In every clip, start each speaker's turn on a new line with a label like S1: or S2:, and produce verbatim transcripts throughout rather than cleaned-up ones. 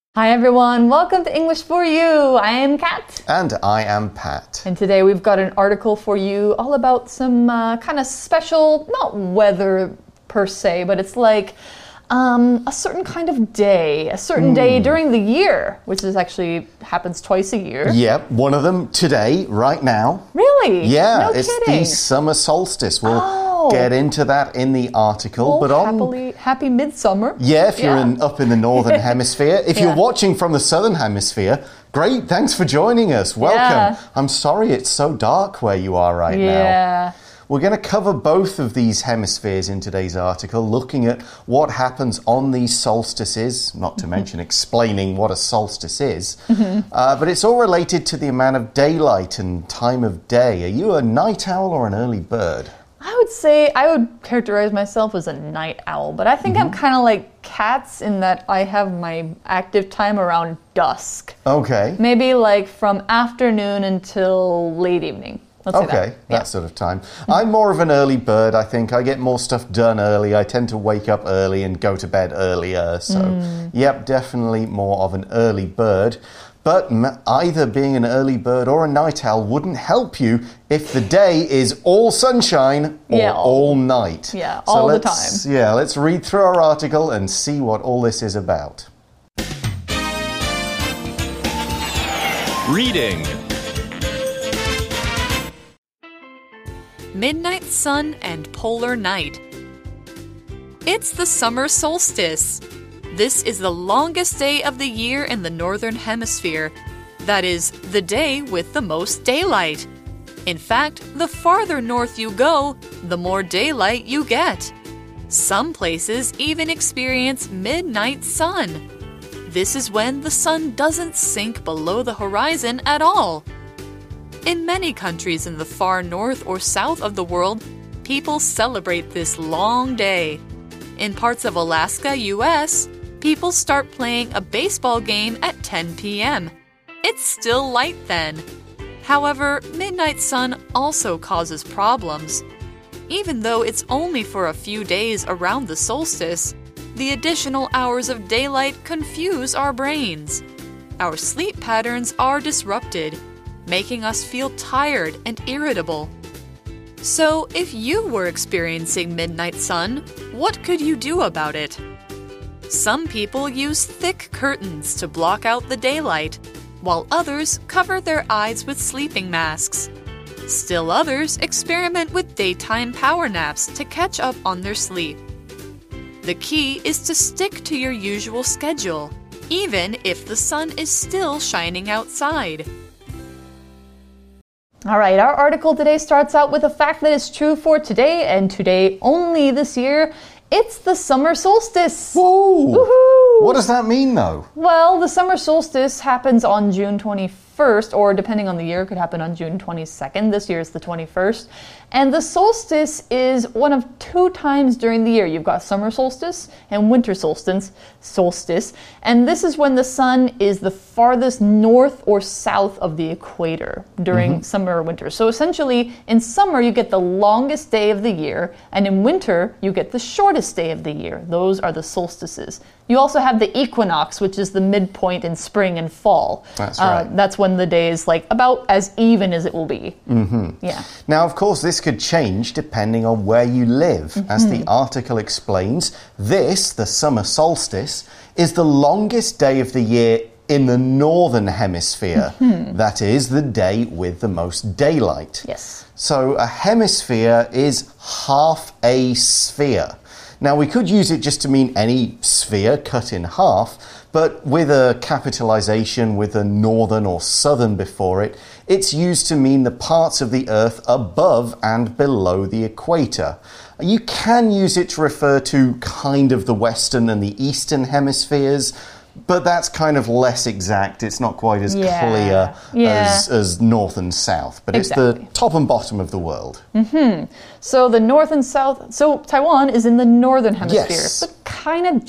S1: Hi everyone, welcome to English for You. I am Kat.
S2: And I am Pat.
S1: And today we've got an article for you all about some uh, kind of special, not weather per se, but it's like um, a certain kind of day, a certain mm. day during the year, which is actually happens twice a year.
S2: Yep, one of them today, right now.
S1: Really?
S2: Yeah,
S1: no
S2: it's
S1: kidding.
S2: the summer solstice. We'll
S1: oh.
S2: get into that in the article.
S1: Well,
S2: but on,
S1: happily, happy midsummer.
S2: Yeah, if you're
S1: yeah.
S2: In, up in the northern hemisphere. If
S1: yeah.
S2: you're watching from the southern hemisphere, great, thanks for joining us. Welcome.
S1: Yeah.
S2: I'm sorry it's so dark where you are right
S1: yeah.
S2: now.
S1: Yeah.
S2: We're going to cover both of these hemispheres in today's article, looking at what happens on these solstices, not to mention explaining what a solstice is. Mm-hmm. uh, but it's all related to the amount of daylight and time of day. Are you a night owl or an early bird?
S1: I would say I would characterize myself as a night owl, but I think mm-hmm. I'm kind of like cats in that I have my active time around dusk.
S2: Okay.
S1: Maybe like from afternoon until late evening. Let's
S2: okay,
S1: say that,
S2: that
S1: yeah.
S2: sort of time. I'm more of an early bird, I think. I get more stuff done early. I tend to wake up early and go to bed earlier. So, mm. yep, definitely more of an early bird. But either being an early bird or a night owl wouldn't help you if the day is all sunshine or
S1: yeah, all,
S2: all night.
S1: Yeah,
S2: so
S1: all the
S2: let's,
S1: time.
S2: Yeah, let's read through our article and see what all this is about.
S3: Reading.
S4: Midnight sun and polar night. It's the summer solstice. This is the longest day of the year in the northern hemisphere. That is, the day with the most daylight. In fact, the farther north you go, the more daylight you get. Some places even experience midnight sun. This is when the sun doesn't sink below the horizon at all. In many countries in the far north or south of the world, people celebrate this long day. In parts of Alaska, U S, people start playing a baseball game at ten p m It's still light then. However, midnight sun also causes problems. Even though it's only for a few days around the solstice, the additional hours of daylight confuse our brains. Our sleep patterns are disrupted, making us feel tired and irritable. So, if you were experiencing midnight sun, what could you do about it? Some people use thick curtains to block out the daylight, while others cover their eyes with sleeping masks. Still others experiment with daytime power naps to catch up on their sleep. The key is to stick to your usual schedule, even if the sun is still shining outside.
S1: All right, our article today starts out with a fact that is true for today, and today only this year. It's the summer solstice.
S2: Whoa!
S1: Woohoo!
S2: What does that mean, though?
S1: Well, the summer solstice happens on June twenty-first, or depending on the year, it could happen on June twenty-second. This year is the twenty-first. And the solstice is one of two times during the year. You've got summer solstice and winter solstice, solstice. And this is when the sun is the farthest north or south of the equator during mm-hmm. summer or winter. So essentially, in summer, you get the longest day of the year, and in winter, you get the shortest day of the year. Those are the solstices. You also have the equinox, which is the midpoint in spring and fall.
S2: That's right.
S1: Uh, that's when the day is like about as even as it will be.
S2: Mm-hmm.
S1: Yeah.
S2: Now, of course, this could change depending on where you live. Mm-hmm. As the article explains, this, the summer solstice, is the longest day of the year in the northern hemisphere. Mm-hmm. That is, the day with the most daylight.
S1: Yes.
S2: So a hemisphere is half a sphere. Now, we could use it just to mean any sphere cut in half, but with a capitalization with a northern or southern before it, it's used to mean the parts of the Earth above and below the equator. You can use it to refer to kind of the western and the eastern hemispheres, but that's kind of less exact. It's not quite as
S1: yeah.
S2: clear
S1: yeah.
S2: As, as north and south, but
S1: exactly.
S2: it's the top and bottom of the world.
S1: Mm-hmm. So the north and south, so Taiwan is in the northern hemisphere,
S2: yes.
S1: but kind of just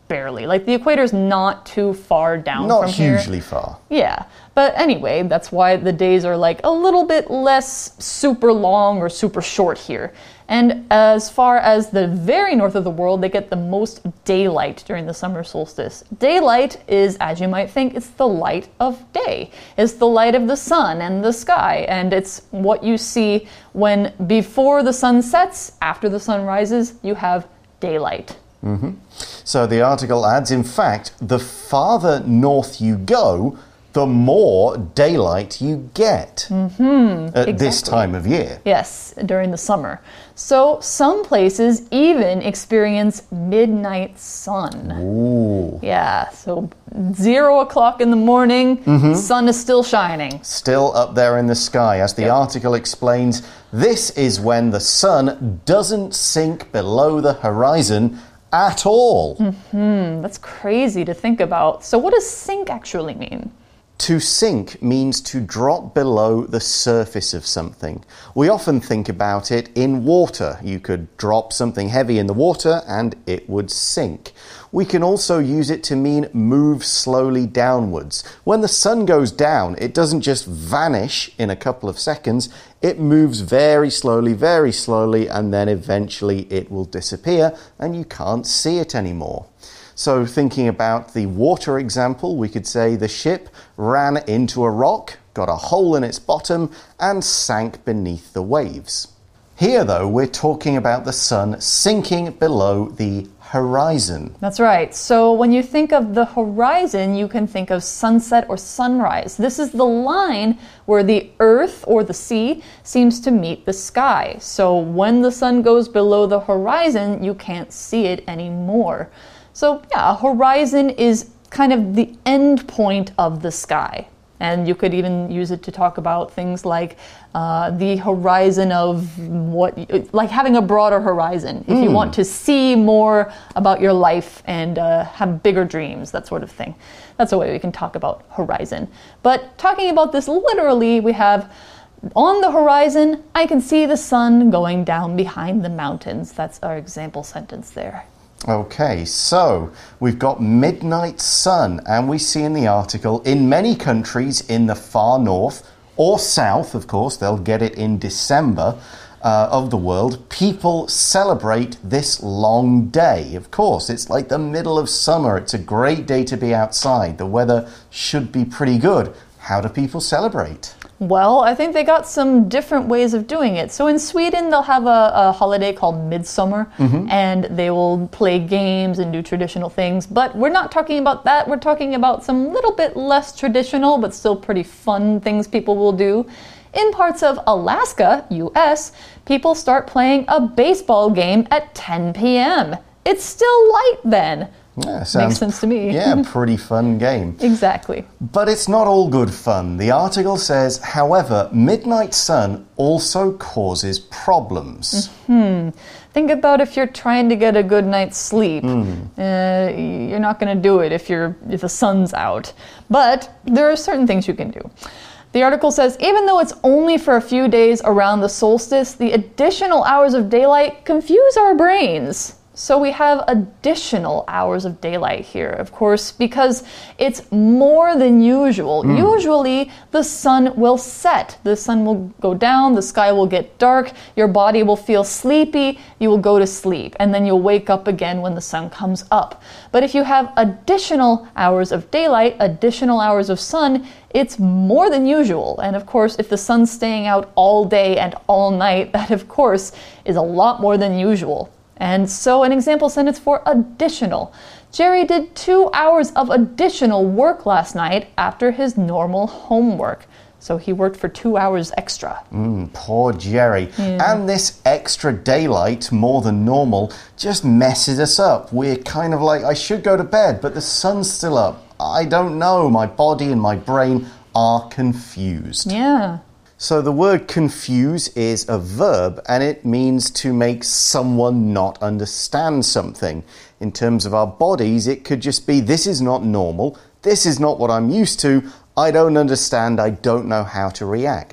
S1: barely. Like the equator is not too far down
S2: Not
S1: from here.
S2: Not hugely far.
S1: Yeah. But anyway, that's why the days are like a little bit less super long or super short here. And as far as the very north of the world, they get the most daylight during the summer solstice. Daylight is, as you might think, it's the light of day. It's the light of the sun and the sky. And it's what you see when before the sun sets, after the sun rises, you have daylight.
S2: Mm-hmm. So the article adds, in fact, the farther north you go, the more daylight you get
S1: mm-hmm,
S2: at
S1: exactly.
S2: this time of year.
S1: Yes, during the summer. So some places even experience midnight sun.
S2: Ooh.
S1: Yeah, so zero o'clock in the morning, mm-hmm. sun is still shining.
S2: Still up there in the sky. As the yep. article explains, this is when the sun doesn't sink below the horizon at all.
S1: Mm-hmm. That's crazy to think about. So what does sink actually mean?
S2: To sink means to drop below the surface of something. We often think about it in water. You could drop something heavy in the water and it would sink. We can also use it to mean move slowly downwards. When the sun goes down, it doesn't just vanish in a couple of seconds. It moves very slowly, very slowly, and then eventually it will disappear and you can't see it anymore. So thinking about the water example, we could say the ship ran into a rock, got a hole in its bottom, and sank beneath the waves. Here, though, we're talking about the sun sinking below the horizon.
S1: That's right. So when you think of the horizon, you can think of sunset or sunrise. This is the line where the earth or the sea seems to meet the sky. So when the sun goes below the horizon, you can't see it anymore. So yeah, a horizon is kind of the end point of the sky. And you could even use it to talk about things like uh, the horizon of what, like having a broader horizon. If mm. you want to see more about your life and uh, have bigger dreams, that sort of thing. That's a way we can talk about horizon. But talking about this literally, we have on the horizon, I can see the sun going down behind the mountains. That's our example sentence there.
S2: Okay, so we've got midnight sun, and we see in the article, in many countries in the far north or south, of course, they'll get it in December, uh, of the world, people celebrate this long day. Of course, it's like the middle of summer. It's a great day to be outside. The weather should be pretty good. How do people celebrate?
S1: Well, I think they got some different ways of doing it. So in Sweden, they'll have a, a holiday called Midsummer, mm-hmm. and they will play games and do traditional things. But we're not talking about that. We're talking about some little bit less traditional, but still pretty fun things people will do. In parts of Alaska, U S, people start playing a baseball game at ten p m It's still light then.
S2: Yeah, sounds,
S1: makes sense to me.
S2: Yeah, pretty fun game.
S1: Exactly.
S2: But it's not all good fun. The article says, however, midnight sun also causes problems.
S1: Mm-hmm. Think about if you're trying to get a good night's sleep.
S2: Mm.
S1: Uh, you're not going to do it if you're if the sun's out. But there are certain things you can do. The article says, even though it's only for a few days around the solstice, the additional hours of daylight confuse our brains. So we have additional hours of daylight here, of course, because it's more than usual. Mm. Usually, the sun will set. The sun will go down, the sky will get dark, your body will feel sleepy, you will go to sleep, and then you'll wake up again when the sun comes up. But if you have additional hours of daylight, additional hours of sun, it's more than usual. And of course, if the sun's staying out all day and all night, that of course is a lot more than usual. And so an example sentence for additional. Jerry did two hours of additional work last night after his normal homework. So he worked for two hours extra.
S2: Mm, poor Jerry.
S1: Yeah.
S2: And this extra daylight, more than normal, just messes us up. We're kind of like, I should go to bed, but the sun's still up. I don't know. My body and my brain are confused.
S1: Yeah.
S2: So the word confuse is a verb, and it means to make someone not understand something. In terms of our bodies, it could just be, this is not normal, this is not what I'm used to, I don't understand, I don't know how to react.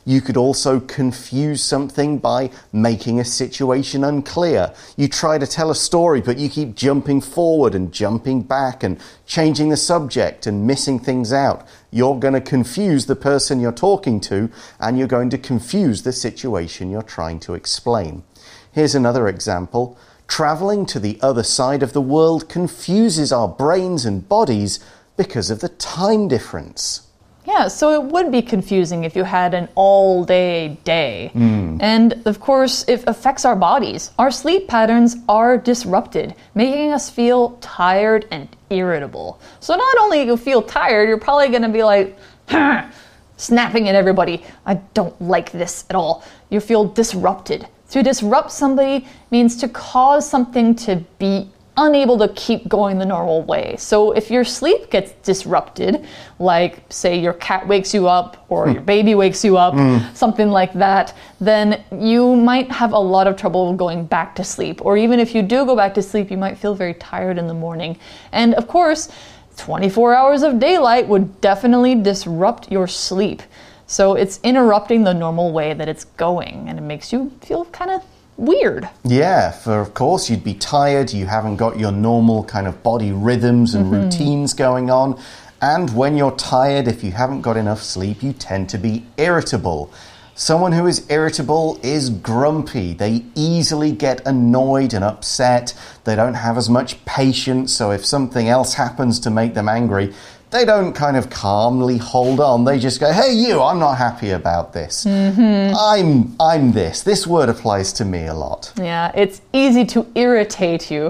S2: You could also confuse something by making a situation unclear. You try to tell a story, but you keep jumping forward and jumping back and changing the subject and missing things out. You're going to confuse the person you're talking to, and you're going to confuse the situation you're trying to explain. Here's another example. Traveling to the other side of the world confuses our brains and bodies because of the time difference.
S1: Yeah, so it would be confusing if you had an all-day day.
S2: Mm.
S1: And of course, it affects our bodies. Our sleep patterns are disrupted, making us feel tired and irritable. So not only you feel tired, you're probably going to be like, snapping at everybody. I don't like this at all. You feel disrupted. To disrupt somebody means to cause something to be unable to keep going the normal way. So if your sleep gets disrupted, like say your cat wakes you up or mm. your baby wakes you up, mm. something like that, then you might have a lot of trouble going back to sleep. Or even if you do go back to sleep, you might feel very tired in the morning. And of course, twenty-four hours of daylight would definitely disrupt your sleep. So it's interrupting the normal way that it's going, and it makes you feel kind of weird.
S2: Yeah, for of course you'd be tired, you haven't got your normal kind of body rhythms and mm-hmm. routines going on. And when you're tired, if you haven't got enough sleep, you tend to be irritable. Someone who is irritable is grumpy. They easily get annoyed and upset. They don't have as much patience, so if something else happens to make them angry, they don't kind of calmly hold on. They just go, hey, you, I'm not happy about this. Mm-hmm. I'm, I'm this. This word applies to me a lot.
S1: Yeah, it's easy to irritate you.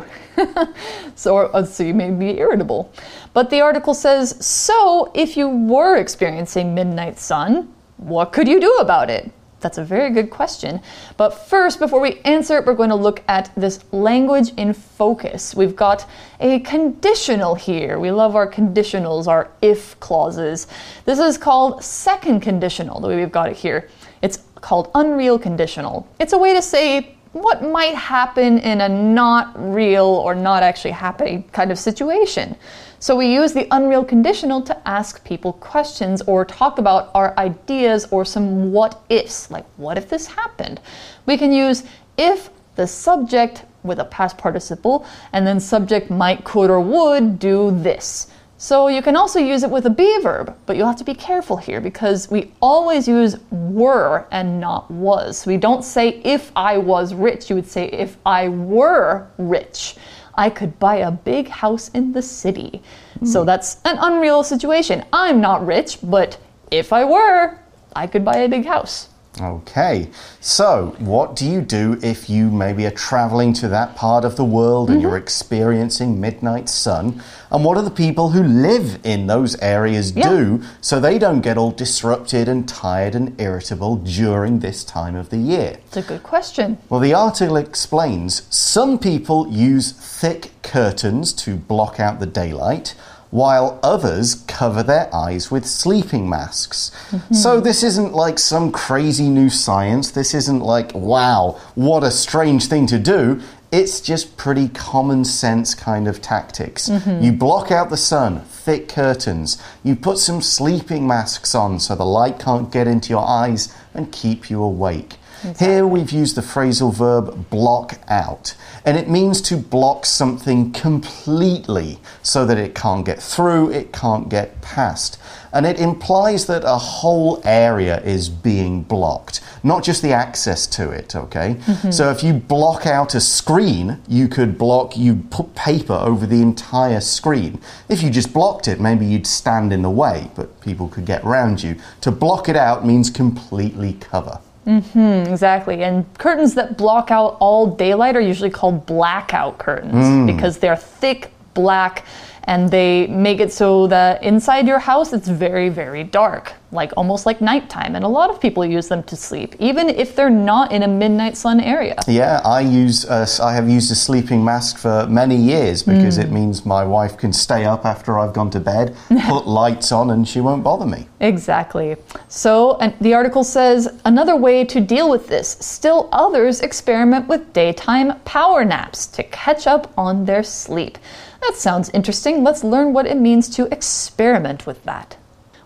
S1: so, so you may be irritable. But the article says, so if you were experiencing midnight sun, what could you do about it? That's a very good question. But first, before we answer it, we're going to look at this language in focus. We've got a conditional here. We love our conditionals, our if clauses. This is called second conditional, the way we've got it here. It's called unreal conditional. It's a way to say what might happen in a not real or not actually happening kind of situation. So we use the unreal conditional to ask people questions or talk about our ideas or some what ifs, like what if this happened? We can use if the subject with a past participle and then subject might, could, or would do this. So you can also use it with a be verb, but you'll have to be careful here because we always use were and not was. We don't say if I was rich, you would say if I were rich. I could buy a big house in the city. Mm. So that's an unreal situation. I'm not rich, but if I were, I could buy a big house.
S2: Okay, so what do you do if you maybe are traveling to that part of the world and mm-hmm. you're experiencing midnight sun? And what do the people who live in those areas yeah. do so they don't get all disrupted and tired and irritable during this time of the year?
S1: It's a good question.
S2: Well, the article explains some people use thick curtains to block out the daylight, while others cover their eyes with sleeping masks. Mm-hmm. So this isn't like some crazy new science. This isn't like, wow, what a strange thing to do. It's just pretty common sense kind of tactics. Mm-hmm. You block out the sun, thick curtains. You put some sleeping masks on so the light can't get into your eyes and keep you awake. Exactly. Here we've used the phrasal verb block out, and it means to block something completely so that it can't get through, it can't get past. And it implies that a whole area is being blocked, not just the access to it, okay? Mm-hmm. So if you block out a screen, you could block, you'd put paper over the entire screen. If you just blocked it, maybe you'd stand in the way, but people could get around you. To block it out means completely cover.
S1: Mm-hmm, exactly. And curtains that block out all daylight are usually called blackout curtains mm. because they're thick, black, and they make it so that inside your house it's very, very dark, like almost like nighttime. And a lot of people use them to sleep, even if they're not in a midnight sun area.
S2: Yeah, I use uh, I have used a sleeping mask for many years because mm. it means my wife can stay up after I've gone to bed, put lights on, and she won't bother me.
S1: Exactly. So and the article says another way to deal with this, still others experiment with daytime power naps to catch up on their sleep. That sounds interesting. Let's learn what it means to experiment with that.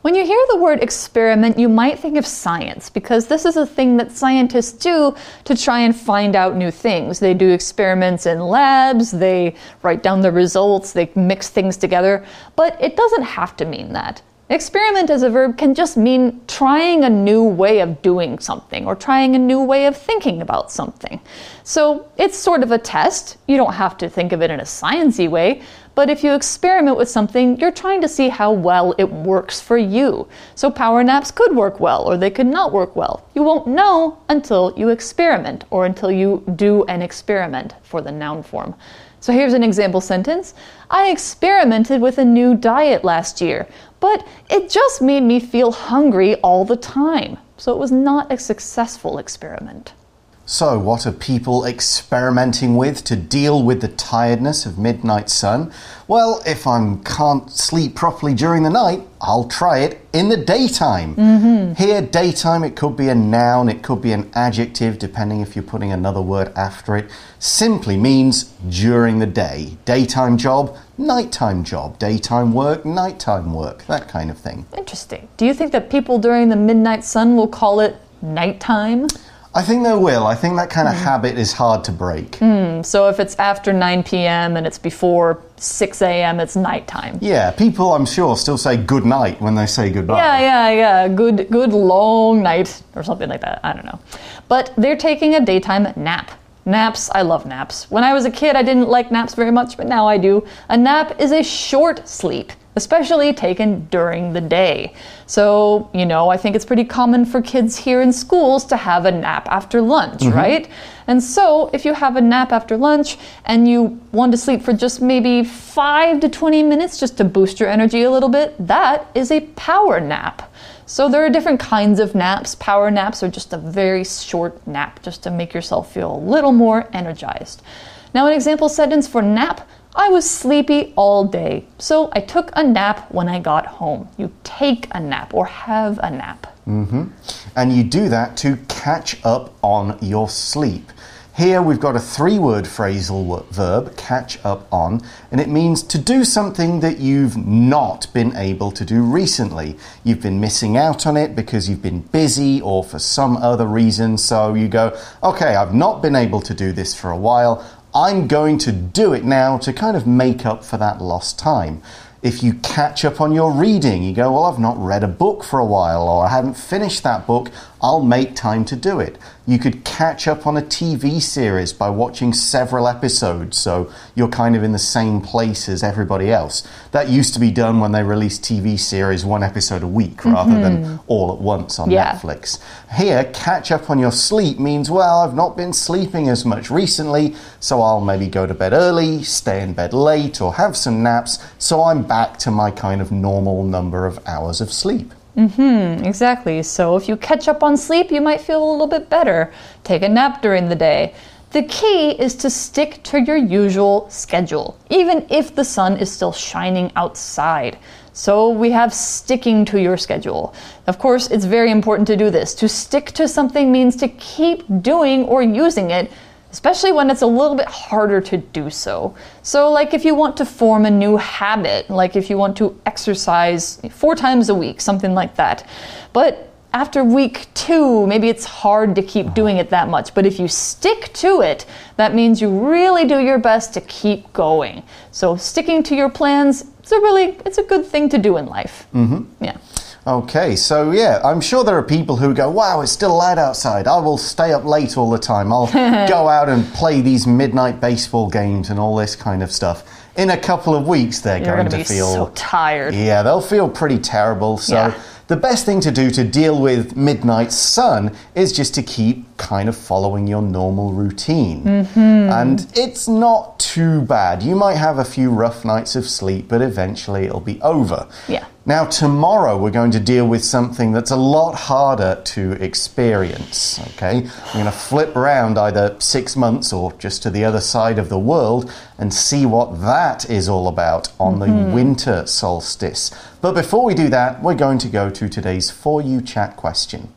S1: When you hear the word experiment, you might think of science, because this is a thing that scientists do to try and find out new things. They do experiments in labs, they write down the results, they mix things together, but it doesn't have to mean that. Experiment as a verb can just mean trying a new way of doing something or trying a new way of thinking about something. So it's sort of a test. You don't have to think of it in a sciencey way, but if you experiment with something, you're trying to see how well it works for you. So power naps could work well or they could not work well. You won't know until you experiment or until you do an experiment for the noun form. So here's an example sentence. I experimented with a new diet last year, but it just made me feel hungry all the time. So it was not a successful experiment.
S2: So, what are people experimenting with to deal with the tiredness of midnight sun? Well, if I can't sleep properly during the night, I'll try it in the daytime.
S1: Mm-hmm.
S2: Here, daytime, it could be a noun, it could be an adjective, depending if you're putting another word after it. Simply means during the day. Daytime job, nighttime job. Daytime work, nighttime work. That kind of thing.
S1: Interesting. Do you think that people during the midnight sun will call it nighttime?
S2: I think they will. I think that kind of mm. habit is hard to break.
S1: Mm, so if it's after nine p m and it's before six a m, it's nighttime.
S2: Yeah, people, I'm sure, still say good night when they say goodbye.
S1: Yeah, yeah, yeah. Good, good long night or something like that. I don't know. But they're taking a daytime nap. Naps, I love naps. When I was a kid, I didn't like naps very much, but now I do. A nap is a short sleep, especially taken during the day. So, you know, I think it's pretty common for kids here in schools to have a nap after lunch, mm-hmm. right? And so if you have a nap after lunch and you want to sleep for just maybe five to twenty minutes just to boost your energy a little bit, that is a power nap. So there are different kinds of naps. Power naps are just a very short nap just to make yourself feel a little more energized. Now, an example sentence for nap: I was sleepy all day, so I took a nap when I got home. You take a nap or have a nap.
S2: Mm-hmm. And you do that to catch up on your sleep. Here we've got a three-word phrasal verb, catch up on, and it means to do something that you've not been able to do recently. You've been missing out on it because you've been busy or for some other reason, so you go, okay, I've not been able to do this for a while. I'm going to do it now to kind of make up for that lost time. If you catch up on your reading, you go, well, I've not read a book for a while, or I haven't finished that book, I'll make time to do it. You could catch up on a T V series by watching several episodes, so you're kind of in the same place as everybody else. That used to be done when they released T V series one episode a week rather mm-hmm. than all at once on
S1: yeah.
S2: Netflix. Here, catch up on your sleep means, well, I've not been sleeping as much recently, so I'll maybe go to bed early, stay in bed late, or have some naps, so I'm back to my kind of normal number of hours of sleep.
S1: Mm-hmm, exactly. So if you catch up on sleep, you might feel a little bit better. Take a nap during the day. The key is to stick to your usual schedule, even if the sun is still shining outside. So we have sticking to your schedule. Of course, it's very important to do this. To stick to something means to keep doing or using it, especially when it's a little bit harder to do so. So like if you want to form a new habit, like if you want to exercise four times a week, something like that. But after week two, maybe it's hard to keep doing it that much. But if you stick to it, that means you really do your best to keep going. So sticking to your plans, it's a really, it's a good thing to do in life.
S2: Mm-hmm.
S1: Yeah.
S2: Okay, so yeah, I'm sure there are people who go, wow, it's still light outside. I will stay up late all the time. I'll go out and play these midnight baseball games and all this kind of stuff. In a couple of weeks, they're
S1: You're
S2: going
S1: to
S2: to feel
S1: so tired.
S2: Yeah, they'll feel pretty terrible. So
S1: yeah.
S2: the best thing to do to deal with midnight sun is just to keep kind of following your normal routine.
S1: Mm-hmm.
S2: And it's not too bad. You might have a few rough nights of sleep, but eventually it'll be over.
S1: Yeah.
S2: Now, tomorrow we're going to deal with something that's a lot harder to experience, okay? We're going to flip around either six months or just to the other side of the world and see what that is all about on mm-hmm. the winter solstice. But before we do that, we're going to go to today's For You Chat question.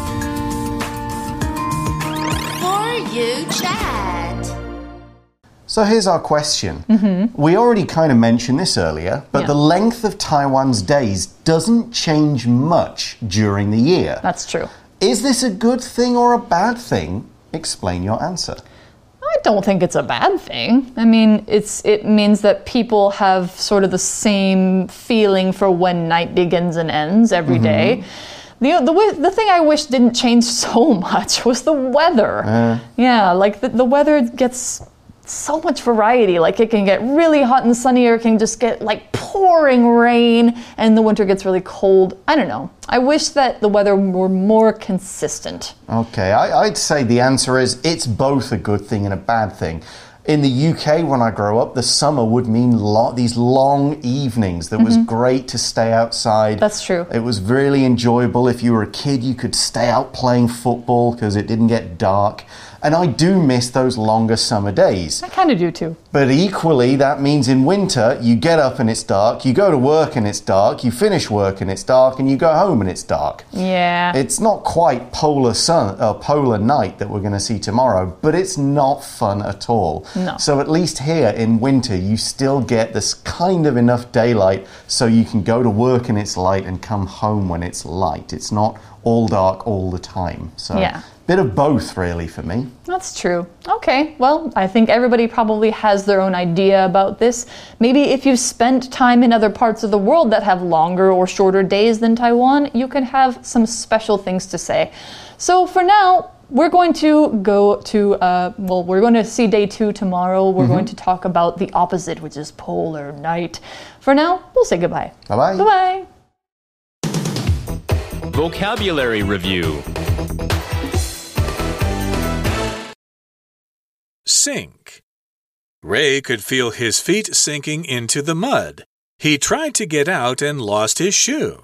S3: For You Chat.
S2: So here's our question.
S1: Mm-hmm.
S2: We already kind of mentioned this earlier, but
S1: yeah.
S2: the length of Taiwan's days doesn't change much during the year.
S1: That's true.
S2: Is this a good thing or a bad thing? Explain your answer.
S1: I don't think it's a bad thing. I mean, it's it means that people have sort of the same feeling for when night begins and ends every
S2: mm-hmm.
S1: day. The, the the thing I wish didn't change so much was the weather.
S2: Uh,
S1: yeah, like the, the weather gets so much variety. Like it can get really hot and sunny, or it can just get like pouring rain, and the winter gets really cold. I don't know. I wish that the weather were more consistent.
S2: Okay, I, I'd say the answer is it's both a good thing and a bad thing. In the U K, when I grow up, the summer would mean lo- these long evenings that mm-hmm. was great to stay outside.
S1: That's true.
S2: It was really enjoyable. If you were a kid, you could stay out playing football because it didn't get dark. And I do miss those longer summer days.
S1: I kind of do too.
S2: But equally, that means in winter, you get up and it's dark, you go to work and it's dark, you finish work and it's dark, and you go home and it's dark.
S1: Yeah.
S2: It's not quite polar sun, uh, polar night that we're going to see tomorrow, but it's not fun at all.
S1: No.
S2: So at least here in winter, you still get this kind of enough daylight so you can go to work and it's light and come home when it's light. It's not all dark all the time. So
S1: yeah.
S2: Bit of both, really, for me.
S1: That's true. Okay, well, I think everybody probably has their own idea about this. Maybe if you've spent time in other parts of the world that have longer or shorter days than Taiwan, you can have some special things to say. So for now, we're going to go to, uh, well, we're going to see day two tomorrow. We're mm-hmm. going to talk about the opposite, which is polar night. For now, we'll say goodbye.
S2: Bye-bye.
S1: Bye-bye.
S3: Vocabulary Review.
S5: Sink. Ray could feel his feet sinking into the mud. He tried to get out and lost his shoe.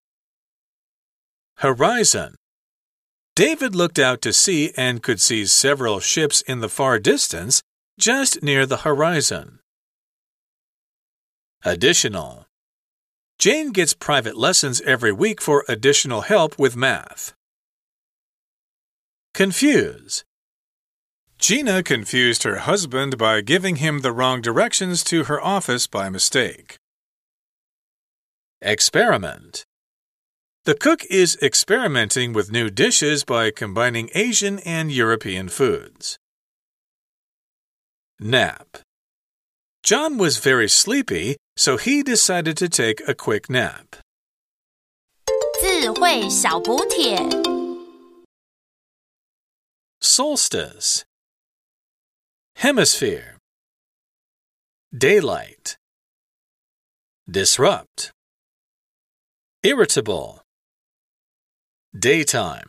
S5: Horizon. David looked out to sea and could see several ships in the far distance, just near the horizon. Additional. Jane gets private lessons every week for additional help with math. Confuse. Gina confused her husband by giving him the wrong directions to her office by mistake. Experiment. The cook is experimenting with new dishes by combining Asian and European foods. Nap. John was very sleepy, so he decided to take a quick nap.
S6: 智慧小補帖
S5: Solstice. Hemisphere. Daylight. Disrupt. Irritable. Daytime.